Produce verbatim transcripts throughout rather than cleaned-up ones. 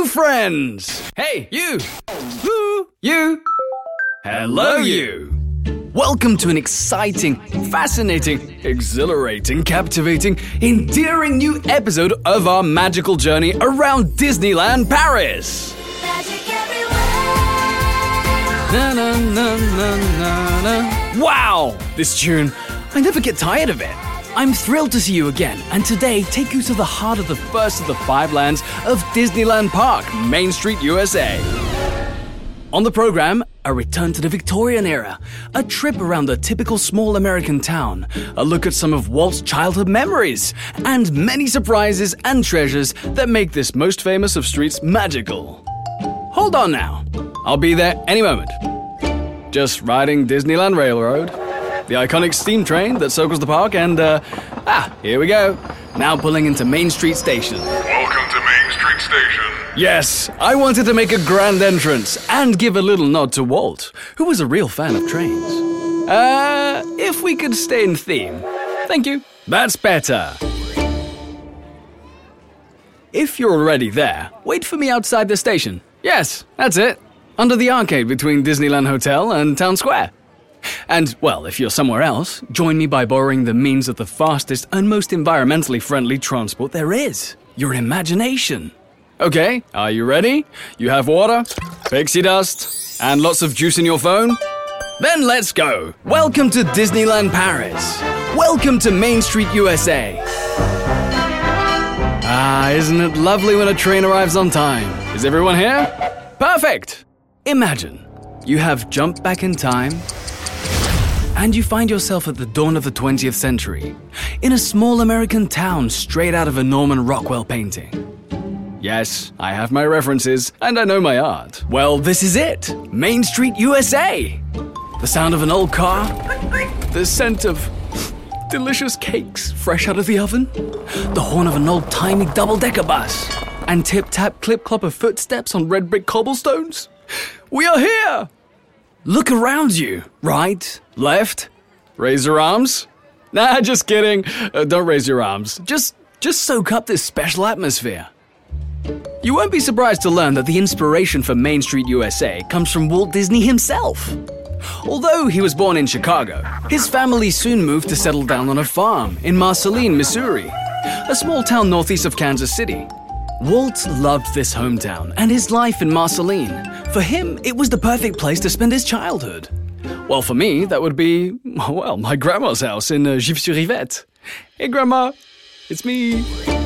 Hello, friends! Hey, you! Woo! You! Hello, you! Welcome to an exciting, fascinating, exhilarating, captivating, endearing new episode of our magical journey around Disneyland Paris! Magic everywhere. Na, na, na, na, na, na. Wow! This tune, I never get tired of it. I'm thrilled to see you again, and today take you to the heart of the first of the five lands of Disneyland Park, Main Street, U S A. On the program, a return to the Victorian era, a trip around the typical small American town, a look at some of Walt's childhood memories, and many surprises and treasures that make this most famous of streets magical. Hold on now, I'll be there any moment. Just riding Disneyland Railroad, the iconic steam train that circles the park, and, uh, ah, here we go. Now pulling into Main Street Station. Welcome to Main Street Station. Yes, I wanted to make a grand entrance and give a little nod to Walt, who was a real fan of trains. Uh, if we could stay in theme. Thank you. That's better. If you're already there, wait for me outside the station. Yes, that's it. Under the arcade between Disneyland Hotel and Town Square. And, well, if you're somewhere else, join me by borrowing the means of the fastest and most environmentally friendly transport there is. Your imagination. Okay, are you ready? You have water, pixie dust, and lots of juice in your phone? Then let's go. Welcome to Disneyland Paris. Welcome to Main Street, U S A. Ah, isn't it lovely when a train arrives on time? Is everyone here? Perfect. Imagine you have jumped back in time and you find yourself at the dawn of the twentieth century, in a small American town straight out of a Norman Rockwell painting. Yes, I have my references, and I know my art. Well, this is it, Main Street, U S A. The sound of an old car, the scent of delicious cakes fresh out of the oven, the horn of an old-timey double-decker bus, and tip-tap, clip-clop of footsteps on red brick cobblestones. We are here! Look around you. Right, left, raise your arms. Nah, just kidding. Uh, don't raise your arms. Just, just soak up this special atmosphere. You won't be surprised to learn that the inspiration for Main Street, U S A comes from Walt Disney himself. Although he was born in Chicago, his family soon moved to settle down on a farm in Marceline, Missouri, a small town northeast of Kansas City. Walt loved this hometown and his life in Marceline. For him, it was the perfect place to spend his childhood. Well, for me, that would be, well, my grandma's house in uh, Gif-sur-Yvette. Hey, Grandma, it's me.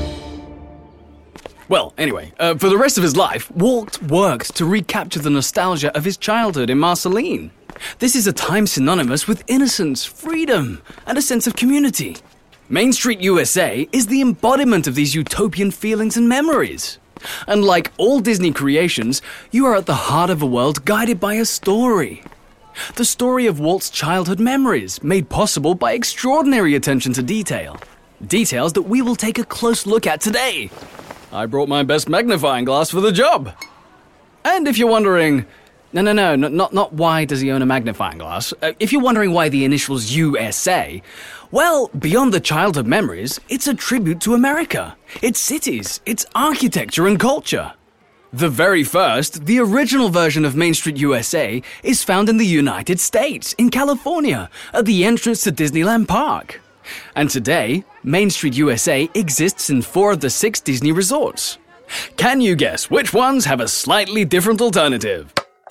Well, anyway, uh, for the rest of his life, Walt worked to recapture the nostalgia of his childhood in Marceline. This is a time synonymous with innocence, freedom, and a sense of community. Main Street, U S A is the embodiment of these utopian feelings and memories. And like all Disney creations, you are at the heart of a world guided by a story. The story of Walt's childhood memories, made possible by extraordinary attention to detail. Details that we will take a close look at today. I brought my best magnifying glass for the job. And if you're wondering, no, no, no, not, not why does he own a magnifying glass, uh, if you're wondering why the initials U S A, well, beyond the childhood memories, it's a tribute to America, its cities, its architecture and culture. The very first, the original version of Main Street, U S A is found in the United States, in California, at the entrance to Disneyland Park. And today, Main Street, U S A exists in four of the six Disney resorts. Can you guess which ones have a slightly different alternative?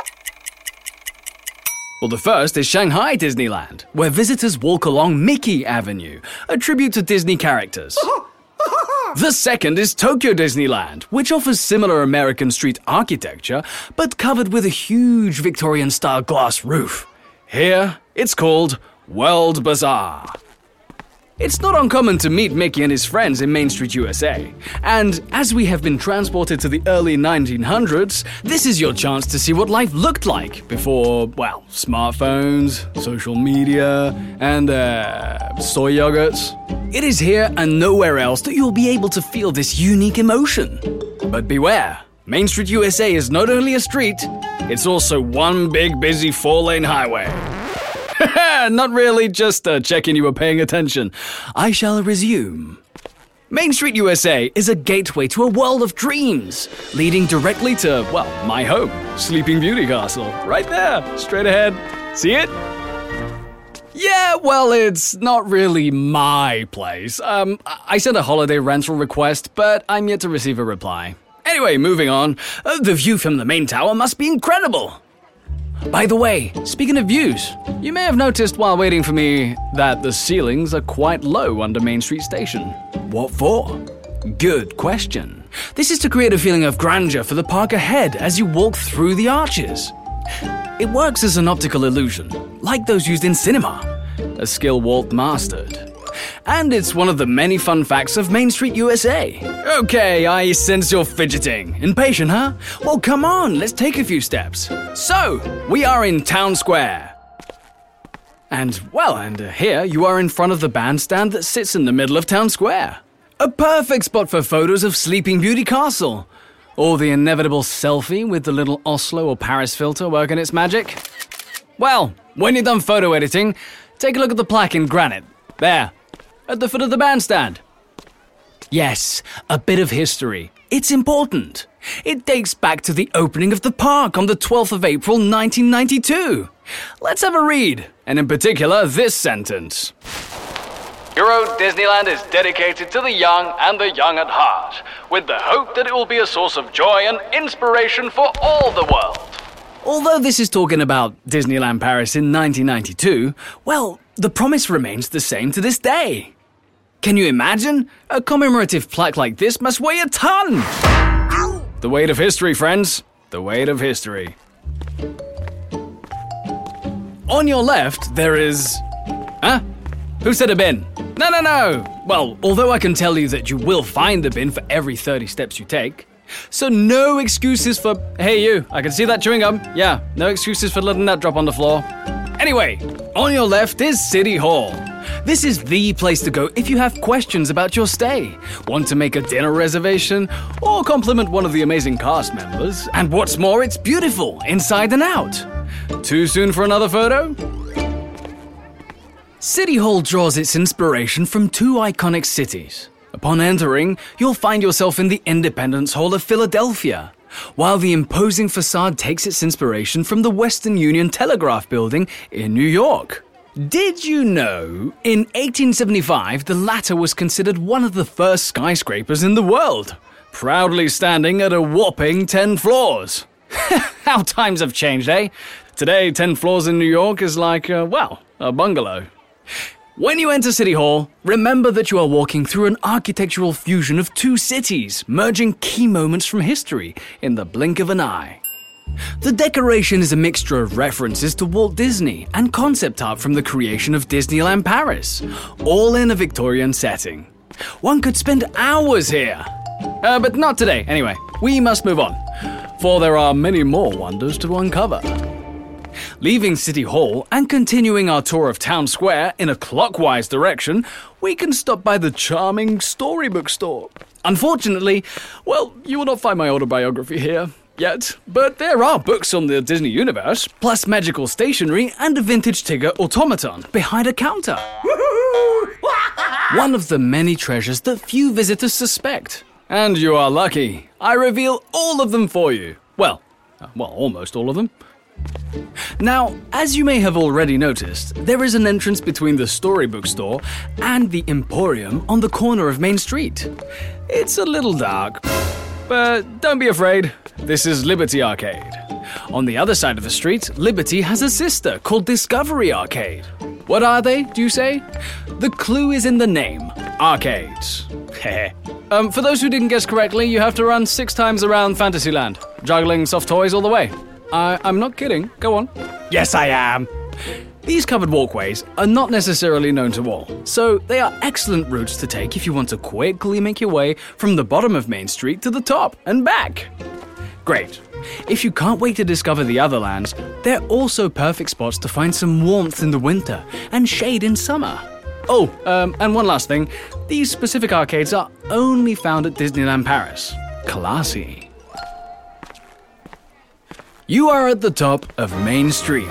Well, the first is Shanghai Disneyland, where visitors walk along Mickey Avenue, a tribute to Disney characters. The second is Tokyo Disneyland, which offers similar American street architecture, but covered with a huge Victorian-style glass roof. Here, it's called World Bazaar. It's not uncommon to meet Mickey and his friends in Main Street, U S A. And as we have been transported to the early nineteen hundreds, this is your chance to see what life looked like before, well, smartphones, social media, and, uh, soy yogurts. It is here and nowhere else that you'll be able to feel this unique emotion. But beware, Main Street, U S A is not only a street, it's also one big busy four-lane highway. Not really, just uh, checking you were paying attention. I shall resume. Main Street U S A is a gateway to a world of dreams, leading directly to, well, my home, Sleeping Beauty Castle. Right there, straight ahead. See it? Yeah, well, it's not really my place. Um, I sent a holiday rental request, but I'm yet to receive a reply. Anyway, moving on. Uh, the view from the main tower must be incredible. By the way, speaking of views, you may have noticed while waiting for me that the ceilings are quite low under Main Street Station. What for? Good question. This is to create a feeling of grandeur for the park ahead as you walk through the arches. It works as an optical illusion, like those used in cinema, a skill Walt mastered. And it's one of the many fun facts of Main Street U S A. Okay, I sense you're fidgeting. Impatient, huh? Well, come on, let's take a few steps. So, we are in Town Square. And, well, and uh, here you are in front of the bandstand that sits in the middle of Town Square. A perfect spot for photos of Sleeping Beauty Castle. Or the inevitable selfie with the little Oslo or Paris filter working its magic. Well, when you're done photo editing, take a look at the plaque in granite. There, at the foot of the bandstand. Yes, a bit of history. It's important. It dates back to the opening of the park on the twelfth of April nineteen ninety-two. Let's have a read, and in particular this sentence. Euro Disneyland is dedicated to the young and the young at heart, with the hope that it will be a source of joy and inspiration for all the world. Although this is talking about Disneyland Paris in nineteen ninety-two, well, the promise remains the same to this day. Can you imagine? A commemorative plaque like this must weigh a ton! The weight of history, friends. The weight of history. On your left, there is... Huh? Who said a bin? No, no, no! Well, although I can tell you that you will find a bin for every thirty steps you take, so no excuses for, hey you, I can see that chewing gum. Yeah, no excuses for letting that drop on the floor. Anyway, on your left is City Hall. This is the place to go if you have questions about your stay, want to make a dinner reservation, or compliment one of the amazing cast members. And what's more, it's beautiful, inside and out. Too soon for another photo? City Hall draws its inspiration from two iconic cities. Upon entering, you'll find yourself in the Independence Hall of Philadelphia, while the imposing facade takes its inspiration from the Western Union Telegraph Building in New York. Did you know, in eighteen seventy-five, the latter was considered one of the first skyscrapers in the world, proudly standing at a whopping ten floors. How times have changed, eh? Today, ten floors in New York is like, uh, well, a bungalow. When you enter City Hall, remember that you are walking through an architectural fusion of two cities, merging key moments from history in the blink of an eye. The decoration is a mixture of references to Walt Disney and concept art from the creation of Disneyland Paris, all in a Victorian setting. One could spend hours here. Uh, but not today, anyway. We must move on, for there are many more wonders to uncover. Leaving City Hall and continuing our tour of Town Square in a clockwise direction, we can stop by the charming Storybook store. Unfortunately, well, you will not find my autobiography here yet, but there are books on the Disney universe, plus magical stationery and a vintage Tigger automaton behind a counter. One of the many treasures that few visitors suspect. And you are lucky. I reveal all of them for you. Well, uh, well, almost all of them. Now, as you may have already noticed, there is an entrance between the Storybook store and the Emporium on the corner of Main Street. It's a little dark, but don't be afraid, this is Liberty Arcade. On the other side of the street, Liberty has a sister called Discovery Arcade. What are they, do you say? The clue is in the name, arcades. um, for those who didn't guess correctly, you have to run six times around Fantasyland, juggling soft toys all the way. I, I'm not kidding. Go on. Yes, I am. These covered walkways are not necessarily known to all, so they are excellent routes to take if you want to quickly make your way from the bottom of Main Street to the top and back. Great. If you can't wait to discover the other lands, they're also perfect spots to find some warmth in the winter and shade in summer. Oh, um, and one last thing. These specific arcades are only found at Disneyland Paris. Classy. You are at the top of Main Street.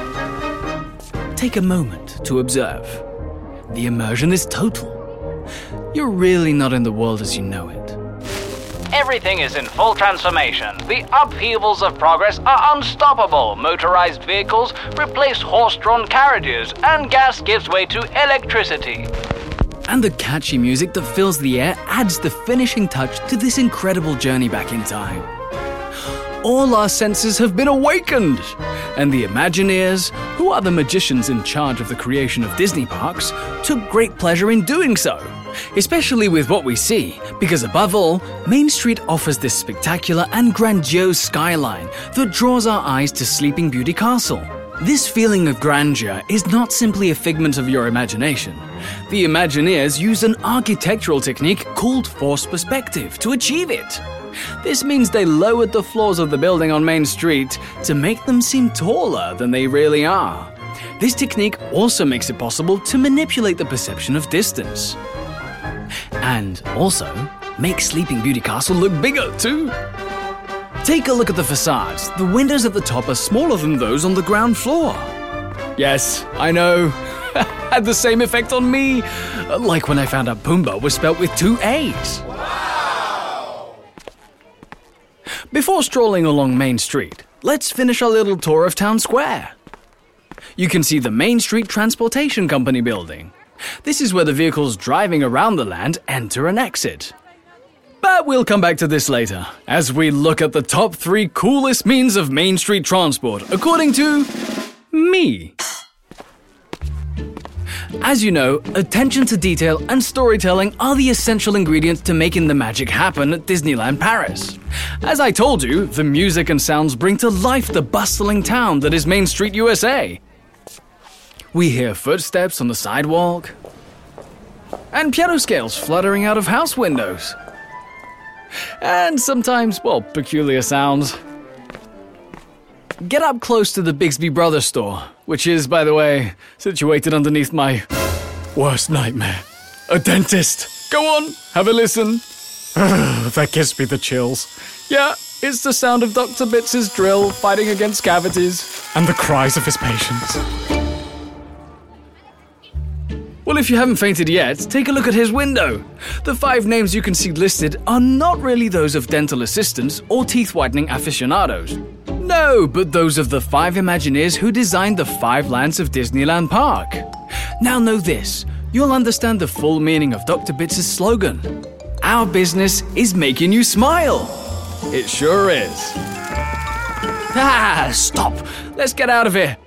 Take a moment to observe. The immersion is total. you're really not in the world as you know it. Everything is in full transformation. The upheavals of progress are unstoppable. Motorized vehicles replace horse-drawn carriages, and gas gives way to electricity. And the catchy music that fills the air adds the finishing touch to this incredible journey back in time. All our senses have been awakened, and the Imagineers, who are the magicians in charge of the creation of Disney parks, took great pleasure in doing so, especially with what we see, because above all, Main Street offers this spectacular and grandiose skyline that draws our eyes to Sleeping Beauty Castle. This feeling of grandeur is not simply a figment of your imagination. The Imagineers used an architectural technique called forced perspective to achieve it. This means they lowered the floors of the building on Main Street to make them seem taller than they really are. This technique also makes it possible to manipulate the perception of distance. And also, make Sleeping Beauty Castle look bigger too. Take a look at the facades. The windows at the top are smaller than those on the ground floor. Yes, I know. Had the same effect on me. Like when I found out Pumbaa was spelt with two A's. Before strolling along Main Street, let's finish our little tour of Town Square. You can see the Main Street Transportation Company building. This is where the vehicles driving around the land enter and exit. But we'll come back to this later, as we look at the top three coolest means of Main Street transport, according to me. As you know, attention to detail and storytelling are the essential ingredients to making the magic happen at Disneyland Paris. As I told you, the music and sounds bring to life the bustling town that is Main Street, U S A. We hear footsteps on the sidewalk, and piano scales fluttering out of house windows. And sometimes, well, peculiar sounds. Get up close to the Bigsby Brothers store, which is, by the way, situated underneath my worst nightmare. A dentist. Go on, have a listen. That gives me the chills. Yeah, it's the sound of Doctor Bits' drill fighting against cavities, and the cries of his patients. Well, if you haven't fainted yet, take a look at his window. The five names you can see listed are not really those of dental assistants or teeth whitening aficionados. No, but those of the five Imagineers who designed the five lands of Disneyland Park. Now know this, you'll understand the full meaning of Doctor Bits' slogan. Our business is making you smile. It sure is. Ah, stop. Let's get out of here.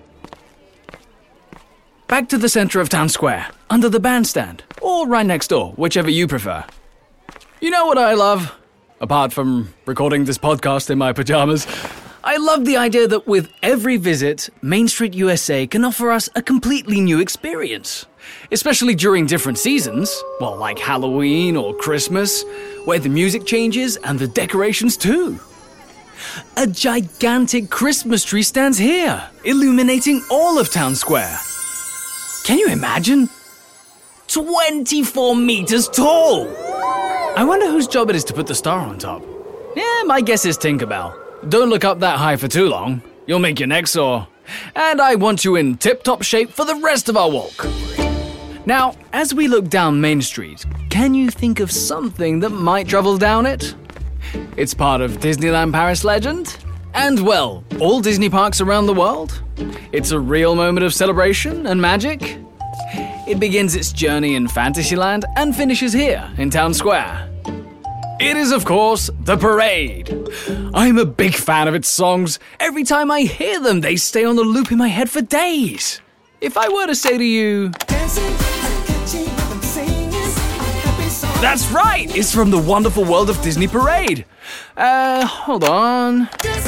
Back to the center of Town Square, under the bandstand, or right next door, whichever you prefer. You know what I love? Apart from recording this podcast in my pajamas, I love the idea that with every visit, Main Street U S A can offer us a completely new experience. Especially during different seasons, well, like Halloween or Christmas, where the music changes and the decorations too. A gigantic Christmas tree stands here, illuminating all of Town Square. Can you imagine? twenty-four meters tall! I wonder whose job it is to put the star on top. Yeah, my guess is Tinkerbell. Don't look up that high for too long. You'll make your neck sore. And I want you in tip-top shape for the rest of our walk. Now, as we look down Main Street, can you think of something that might travel down it? It's part of Disneyland Paris legend. And, well, all Disney parks around the world. It's a real moment of celebration and magic. It begins its journey in Fantasyland and finishes here in Town Square. It is, of course, the parade. I'm a big fan of its songs. Every time I hear them, they stay on the loop in my head for days. If I were to say to you, that's right, it's from the wonderful world of Disney Parade. Uh, hold on.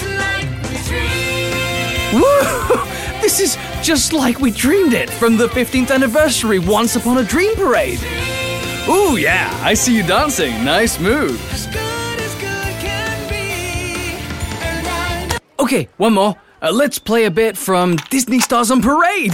Woo! This is just like we dreamed it from the fifteenth anniversary Once Upon a Dream Parade. Ooh, yeah, I see you dancing. Nice moves. Okay, one more. Uh, let's play a bit from Disney Stars on Parade.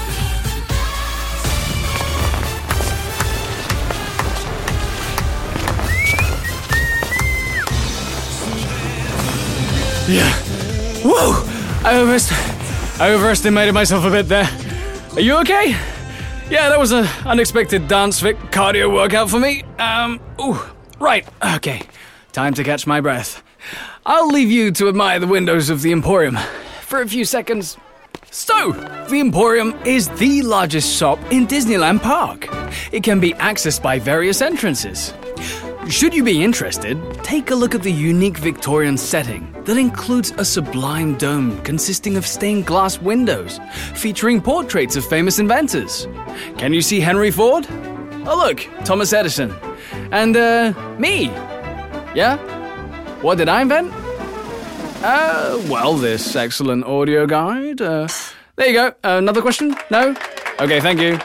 Yeah. Whoa! I, overest- I overestimated myself a bit there. Are you okay? Yeah, that was an unexpected dance fit cardio workout for me. Um, ooh, right, okay. Time to catch my breath. I'll leave you to admire the windows of the Emporium for a few seconds. So, the Emporium is the largest shop in Disneyland Park. It can be accessed by various entrances. Should you be interested, take a look at the unique Victorian setting that includes a sublime dome consisting of stained glass windows featuring portraits of famous inventors. Can you see Henry Ford? Oh look, Thomas Edison. And, uh, me. Yeah? What did I invent? Uh, well, this excellent audio guide. Uh, there you go. Uh, another question? No? Okay, thank you.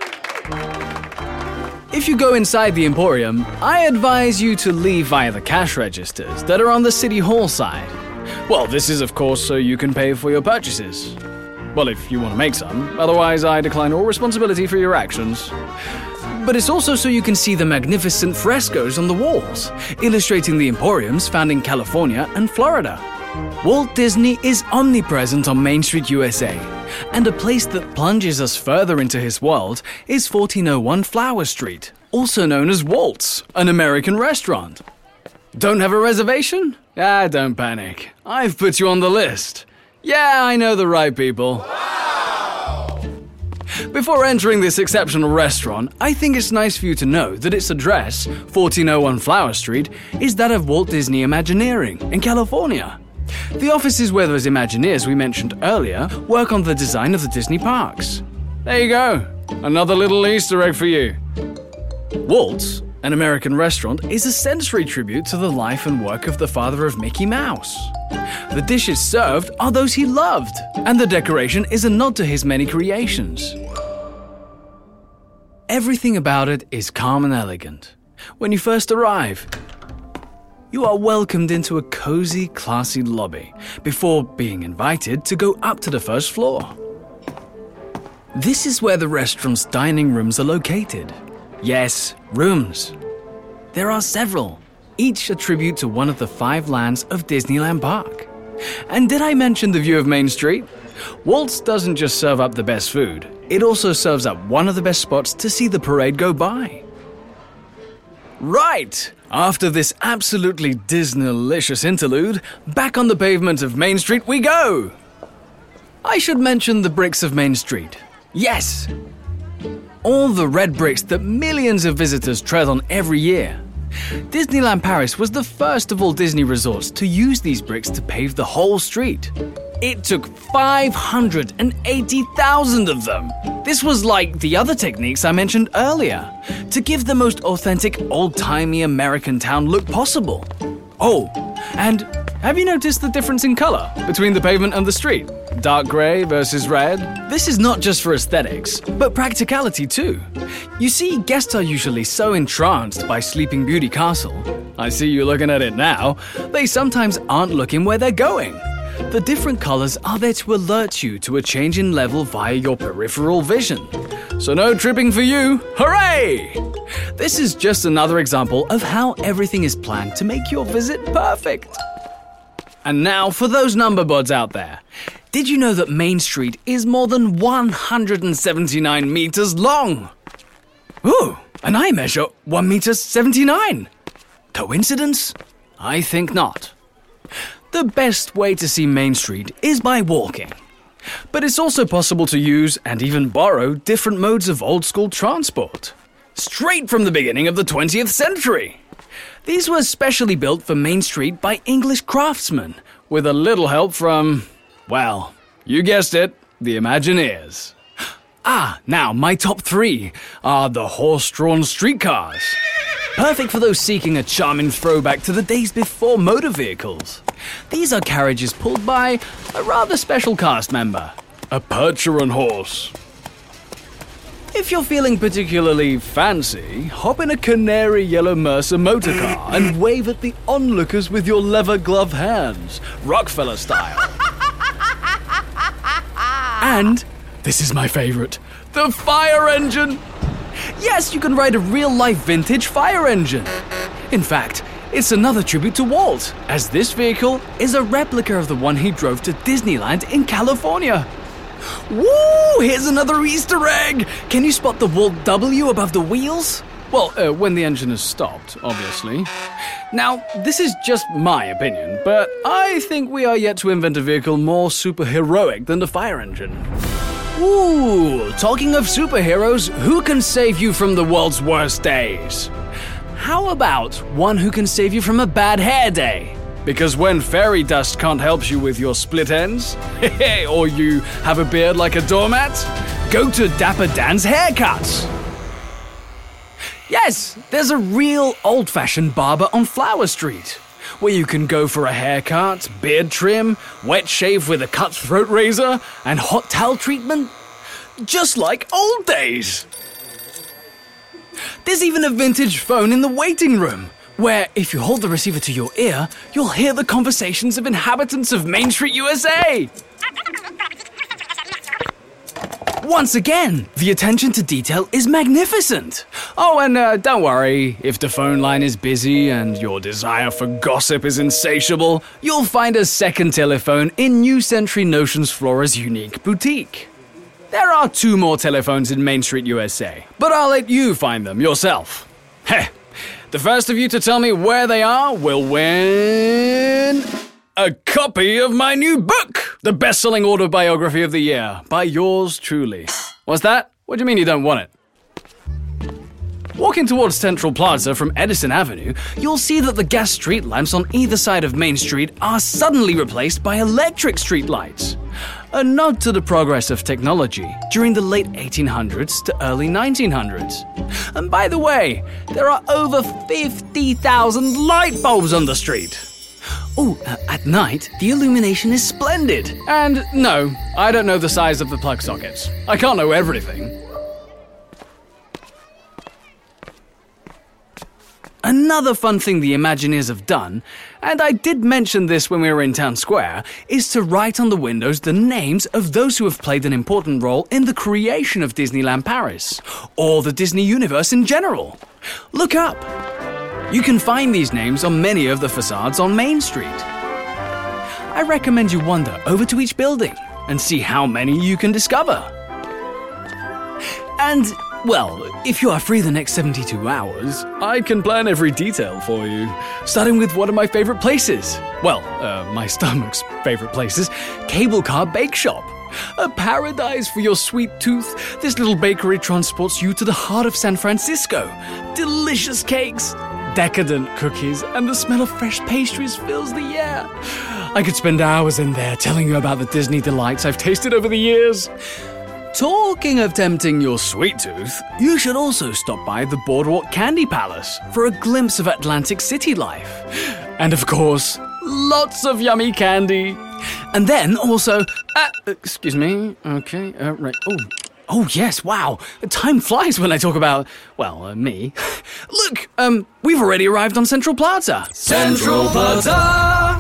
If you go inside the Emporium, I advise you to leave via the cash registers that are on the City Hall side. Well, this is of course so you can pay for your purchases. Well, if you want to make some, otherwise I decline all responsibility for your actions. But it's also so you can see the magnificent frescoes on the walls, illustrating the Emporiums found in California and Florida. Walt Disney is omnipresent on Main Street, U S A, and a place that plunges us further into his world is fourteen oh one Flower Street, also known as Walt's, an American restaurant. Don't have a reservation? Ah, don't panic. I've put you on the list. Yeah, I know the right people. Wow! Before entering this exceptional restaurant, I think it's nice for you to know that its address, fourteen oh one Flower Street, is that of Walt Disney Imagineering in California. The offices where those Imagineers we mentioned earlier work on the design of the Disney parks. There you go, another little Easter egg for you. Walt's, an American restaurant, is a sensory tribute to the life and work of the father of Mickey Mouse. The dishes served are those he loved, and the decoration is a nod to his many creations. Everything about it is calm and elegant. When you first arrive, you are welcomed into a cozy, classy lobby before being invited to go up to the first floor. This is where the restaurant's dining rooms are located. Yes, rooms. There are several, each a tribute to one of the five lands of Disneyland Park. And did I mention the view of Main Street? Walt's doesn't just serve up the best food, it also serves up one of the best spots to see the parade go by. Right! After this absolutely Disney-licious interlude, back on the pavement of Main Street we go! I should mention the bricks of Main Street. Yes! All the red bricks that millions of visitors tread on every year. Disneyland Paris was the first of all Disney resorts to use these bricks to pave the whole street. It took five hundred eighty thousand of them. This was like the other techniques I mentioned earlier, to give the most authentic, old-timey American town look possible. Oh, and have you noticed the difference in color between the pavement and the street? Dark gray versus red? This is not just for aesthetics, but practicality too. You see, guests are usually so entranced by Sleeping Beauty Castle. I see you looking at it now. They sometimes aren't looking where they're going. The different colors are there to alert you to a change in level via your peripheral vision. So no tripping for you, hooray! This is just another example of how everything is planned to make your visit perfect. And now for those number buds out there. Did you know that Main Street is more than one hundred seventy-nine meters long? Ooh, and I measure one meter seventy-nine. Coincidence? I think not. The best way to see Main Street is by walking. But it's also possible to use and even borrow different modes of old-school transport. Straight from the beginning of the twentieth century. These were specially built for Main Street by English craftsmen, with a little help from, well, you guessed it, the Imagineers. Ah, now my top three are the horse-drawn streetcars. Perfect for those seeking a charming throwback to the days before motor vehicles. These are carriages pulled by a rather special cast member, a Percheron horse. If you're feeling particularly fancy, hop in a canary yellow Mercer motor car and wave at the onlookers with your leather glove hands, Rockefeller style. And, this is my favorite, the fire engine. Yes, you can ride a real-life vintage fire engine. In fact, it's another tribute to Walt, as this vehicle is a replica of the one he drove to Disneyland in California. Woo! Here's another Easter egg! Can you spot the Walt W above the wheels? Well, uh, when the engine has stopped, obviously. Now, this is just my opinion, but I think we are yet to invent a vehicle more superheroic than the fire engine. Ooh, talking of superheroes, who can save you from the world's worst days? How about one who can save you from a bad hair day? Because when fairy dust can't help you with your split ends, or you have a beard like a doormat, go to Dapper Dan's Haircuts. Yes, there's a real old-fashioned barber on Flower Street, where you can go for a haircut, beard trim, wet shave with a cutthroat razor, and hot towel treatment. Just like old days. There's even a vintage phone in the waiting room, where if you hold the receiver to your ear, you'll hear the conversations of inhabitants of Main Street, U S A. Once again, the attention to detail is magnificent. Oh, and uh, don't worry, if the phone line is busy and your desire for gossip is insatiable, you'll find a second telephone in New Century Notions Flora's unique boutique. There are two more telephones in Main Street, U S A, but I'll let you find them yourself. Heh, the first of you to tell me where they are will win a copy of my new book, the best-selling autobiography of the year, by yours truly. What's that? What do you mean you don't want it? Walking towards Central Plaza from Edison Avenue, you'll see that the gas street lamps on either side of Main Street are suddenly replaced by electric street lights. A nod to the progress of technology during the late eighteen hundreds to early nineteen hundreds. And by the way, there are over fifty thousand light bulbs on the street. Oh, uh, at night, the illumination is splendid. And no, I don't know the size of the plug sockets. I can't know everything. Another fun thing the Imagineers have done, and I did mention this when we were in Town Square, is to write on the windows the names of those who have played an important role in the creation of Disneyland Paris, or the Disney universe in general. Look up. You can find these names on many of the facades on Main Street. I recommend you wander over to each building and see how many you can discover. And, well, if you are free the next seventy-two hours, I can plan every detail for you, starting with one of my favorite places. Well, uh, my stomach's favorite places, Cable Car Bake Shop. A paradise for your sweet tooth, this little bakery transports you to the heart of San Francisco. Delicious cakes, decadent cookies, and the smell of fresh pastries fills the air. I could spend hours in there telling you about the Disney delights I've tasted over the years. Talking of tempting your sweet tooth, you should also stop by the Boardwalk Candy Palace for a glimpse of Atlantic City life. And of course, lots of yummy candy. And then also, uh, excuse me, okay, uh, right, oh. Oh, yes, wow. Time flies when I talk about, well, uh, me. Look, um, we've already arrived on Central Plaza. Central Plaza!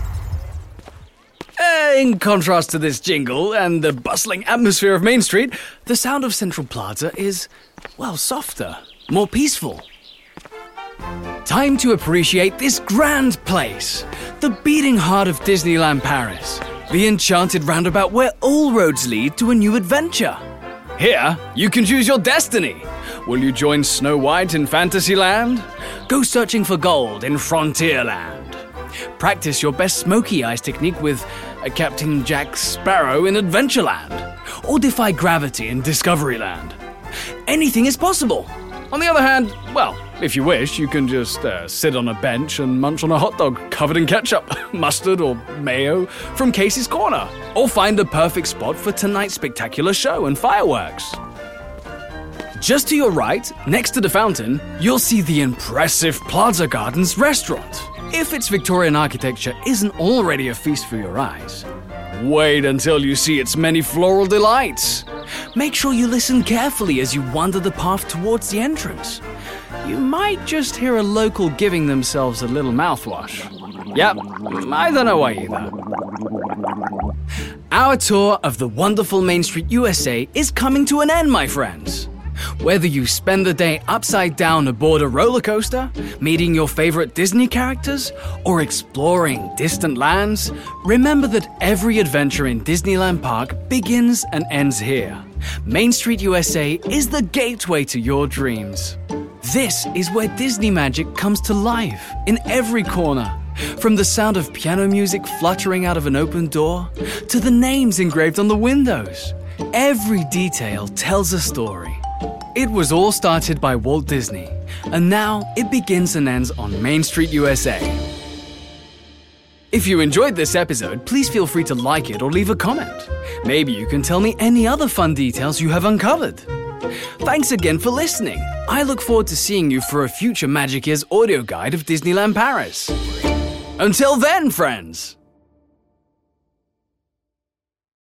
Uh, in contrast to this jingle and the bustling atmosphere of Main Street, the sound of Central Plaza is, well, softer, more peaceful. Time to appreciate this grand place, the beating heart of Disneyland Paris, the enchanted roundabout where all roads lead to a new adventure. Here, you can choose your destiny. Will you join Snow White in Fantasyland? Go searching for gold in Frontierland. Practice your best smoky eyes technique with uh, Captain Jack Sparrow in Adventureland. Or defy gravity in Discoveryland. Anything is possible. On the other hand, well, if you wish, you can just uh, sit on a bench and munch on a hot dog covered in ketchup, mustard or mayo from Casey's Corner. Or find the perfect spot for tonight's spectacular show and fireworks. Just to your right, next to the fountain, you'll see the impressive Plaza Gardens restaurant. If its Victorian architecture isn't already a feast for your eyes, wait until you see its many floral delights. Make sure you listen carefully as you wander the path towards the entrance. You might just hear a local giving themselves a little mouthwash. Yep, I don't know why either. Our tour of the wonderful Main Street U S A is coming to an end, my friends. Whether you spend the day upside down aboard a roller coaster, meeting your favorite Disney characters, or exploring distant lands, remember that every adventure in Disneyland Park begins and ends here. Main Street U S A is the gateway to your dreams. This is where Disney magic comes to life in every corner. From the sound of piano music fluttering out of an open door, to the names engraved on the windows. Every detail tells a story. It was all started by Walt Disney, and now it begins and ends on Main Street U S A. If you enjoyed this episode, please feel free to like it or leave a comment. Maybe you can tell me any other fun details you have uncovered. Thanks again for listening. I look forward to seeing you for a future Magic Ears audio guide of Disneyland Paris. Until then, friends!